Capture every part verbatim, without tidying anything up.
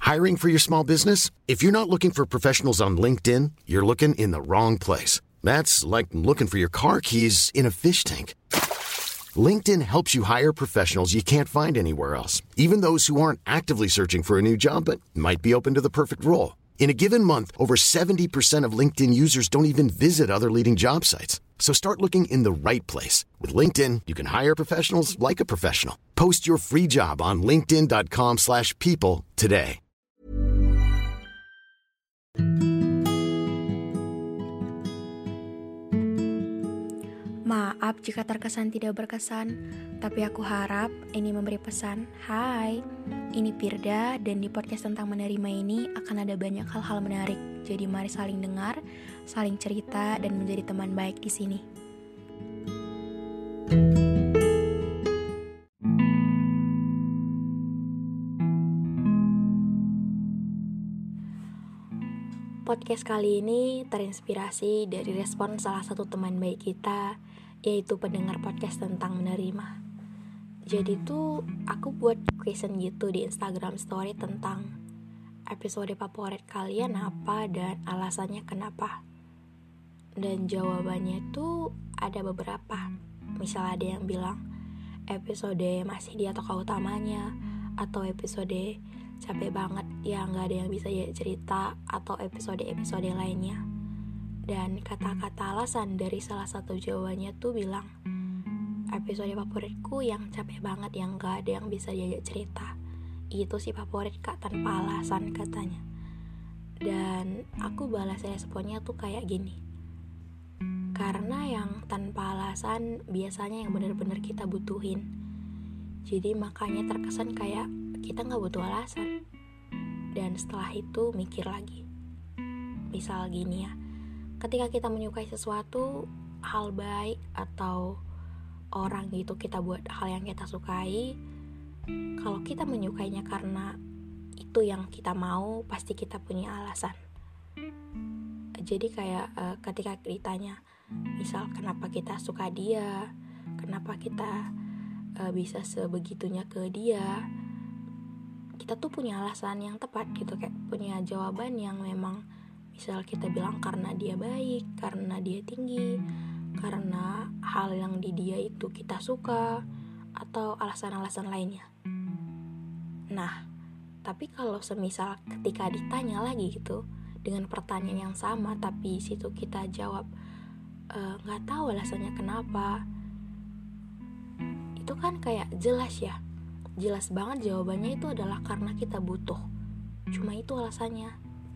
Hiring for your small business? If you're not looking for professionals on LinkedIn, you're looking in the wrong place. That's like looking for your car keys in a fish tank. LinkedIn helps you hire professionals you can't find anywhere else, even those who aren't actively searching for a new job but might be open to the perfect role. In a given month, over seventy percent of LinkedIn users don't even visit other leading job sites. So start looking in the right place. With LinkedIn, you can hire professionals like a professional. Post your free job on linkedin.com slash people today. Maaf jika terkesan tidak berkesan, tapi aku harap ini memberi pesan. Hai, ini Firda, dan di podcast tentang menerima ini akan ada banyak hal-hal menarik. Jadi mari saling dengar, saling cerita, dan menjadi teman baik di sini. Podcast kali ini terinspirasi dari respon salah satu teman baik kita, yaitu pendengar podcast tentang menerima. Jadi tuh aku buat question gitu di Instagram story tentang episode favorit kalian apa dan alasannya kenapa. Dan jawabannya tuh ada beberapa. Misal ada yang bilang episode masih dia tokoh utamanya, atau episode capek banget ya gak ada yang bisa jadi cerita, atau episode-episode lainnya. Dan kata-kata alasan dari salah satu jawabannya tuh bilang episode favoritku yang capek banget, yang gak ada yang bisa diajak cerita. Itu sih favorit kak, tanpa alasan katanya. Dan aku balas responnya tuh kayak gini, karena yang tanpa alasan biasanya yang benar-benar kita butuhin. Jadi makanya terkesan kayak kita gak butuh alasan. Dan setelah itu mikir lagi. Misal gini ya, ketika kita menyukai sesuatu, hal baik atau orang gitu, kita buat hal yang kita sukai, kalau kita menyukainya karena itu yang kita mau, pasti kita punya alasan. Jadi kayak uh, ketika ditanya, misal kenapa kita suka dia, kenapa kita uh, bisa sebegitunya ke dia, kita tuh punya alasan yang tepat gitu, kayak punya jawaban yang memang misal kita bilang karena dia baik, karena dia tinggi, karena hal yang di dia itu kita suka, atau alasan-alasan lainnya. Nah, tapi kalau semisal ketika ditanya lagi gitu dengan pertanyaan yang sama, tapi situ kita jawab nggak e, tahu alasannya kenapa, itu kan kayak jelas ya. Jelas banget jawabannya itu adalah karena kita butuh. Cuma itu alasannya.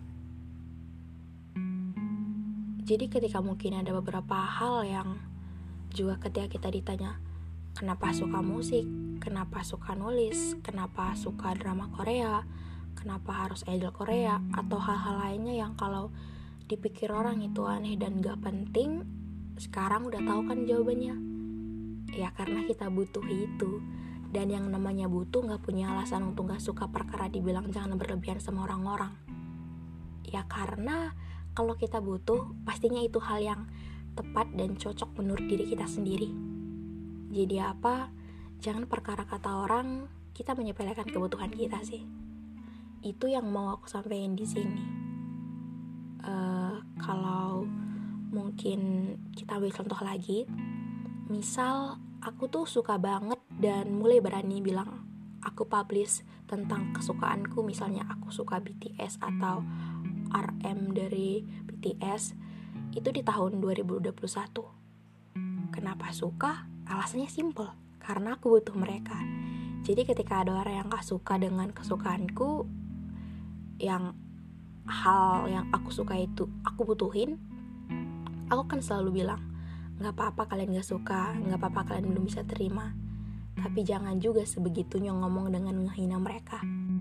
Jadi ketika mungkin ada beberapa hal yang juga ketika kita ditanya kenapa suka musik, kenapa suka nulis, kenapa suka drama Korea, kenapa harus idol Korea, atau hal-hal lainnya yang kalau dipikir orang itu aneh dan gak penting, sekarang udah tahu kan jawabannya. Ya karena kita butuh itu. Dan yang namanya butuh gak punya alasan untuk gak suka perkara dibilang jangan berlebihan sama orang-orang. Ya karena kalau kita butuh, pastinya itu hal yang tepat dan cocok menurut diri kita sendiri. Jadi apa? Jangan perkara kata orang kita menyepelekan kebutuhan kita sih. Itu yang mau aku sampaikan di sini. Uh, kalau mungkin kita ambil contoh lagi, misal aku tuh suka banget dan mulai berani bilang aku publish tentang kesukaanku, misalnya aku suka B T S atau R M dari B T S itu di tahun dua ribu dua puluh satu. Kenapa suka? Alasannya simple, karena aku butuh mereka. Jadi ketika ada orang yang gak suka dengan kesukaanku, yang hal yang aku suka itu aku butuhin, aku kan selalu bilang gak apa-apa kalian gak suka, gak apa-apa kalian belum bisa terima, tapi jangan juga sebegitunya ngomong dengan menghina mereka.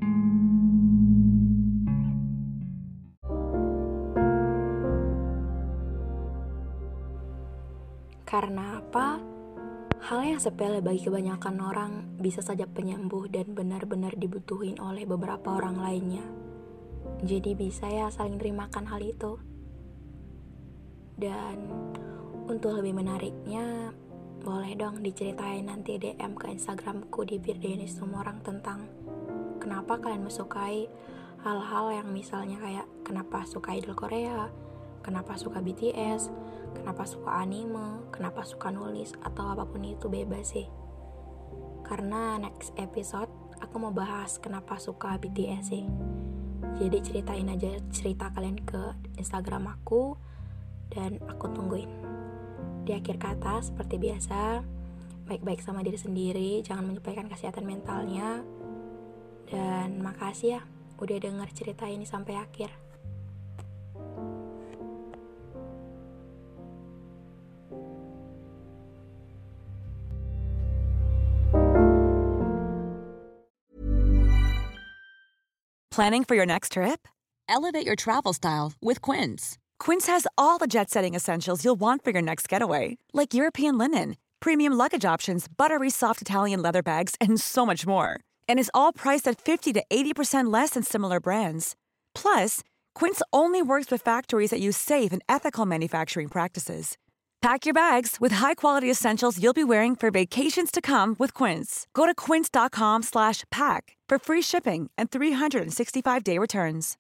Karena apa? Hal yang sepele bagi kebanyakan orang bisa saja penyembuh dan benar-benar dibutuhin oleh beberapa orang lainnya. Jadi bisa ya saling terimakan hal itu. Dan untuk lebih menariknya, boleh dong diceritain nanti D M ke Instagramku di Firdayanis Semua Orang tentang kenapa kalian menyukai hal-hal yang misalnya kayak kenapa suka idol Korea, kenapa suka B T S, kenapa suka anime, kenapa suka nulis, atau apapun itu bebas sih. Karena next episode aku mau bahas kenapa suka B T S sih. Jadi ceritain aja cerita kalian ke Instagram aku dan aku tungguin. Di akhir kata seperti biasa, baik-baik sama diri sendiri, jangan menyepelekan kesehatan mentalnya. Dan makasih ya udah denger cerita ini sampai akhir. Planning for your next trip? Elevate your travel style with Quince. Quince has all the jet-setting essentials you'll want for your next getaway, like European linen, premium luggage options, buttery soft Italian leather bags, and so much more. And is all priced at fifty to eighty percent less than similar brands. Plus, Quince only works with factories that use safe and ethical manufacturing practices. Pack your bags with high-quality essentials you'll be wearing for vacations to come with Quince. Go to quince.com slash pack for free shipping and three sixty-five day returns.